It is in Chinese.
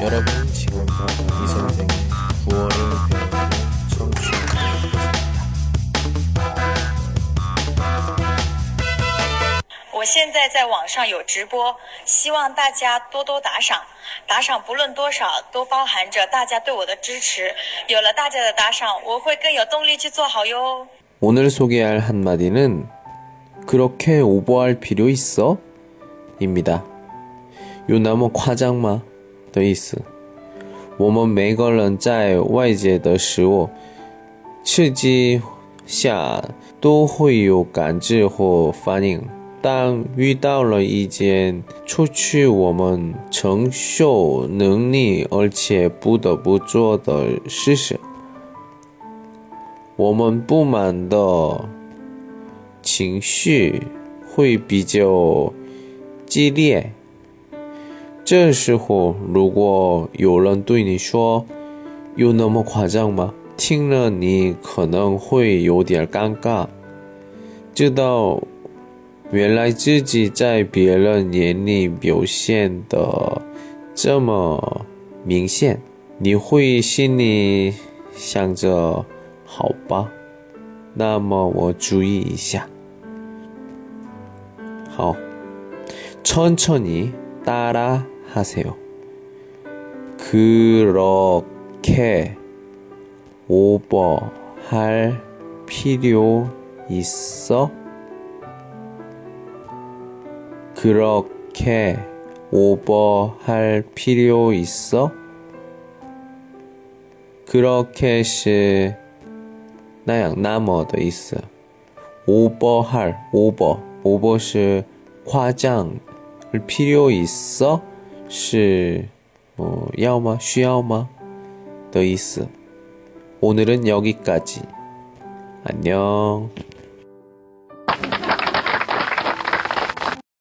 여러분 지금부터 이 선생의 구어를 배우는 청취하고 있습니다. 我现在在网上有直播，希望大家多多打赏，打赏不论多少都包含着大家对我的支持，有了大家的打赏，我会更有动力去做好哟。 오늘 소개할 한마디는 그렇게 오버할 필요 있어? 입니다. 有那么夸张吗的意思。我们每个人在外界的事物刺激下都会有感知和反应，当遇到了一件出乎我们承受能力而且不得不做的事时，我们不满的情绪会比较激烈。这时候如果有人对你说有那么夸张吗？听了你可能会有点尴尬，知道原来自己在别人眼里表现得这么明显，你会心里想着好吧，那么我注意一下。好，천천히 따라 하세요. 그렇게 오버할 필요 있어? 그렇게 오버할 필요 있어? 그렇게 是那样那么的意思。오버할 over 是夸张，而필요 있어是要吗？需要吗？的意思。오늘은 여기까지. 안녕.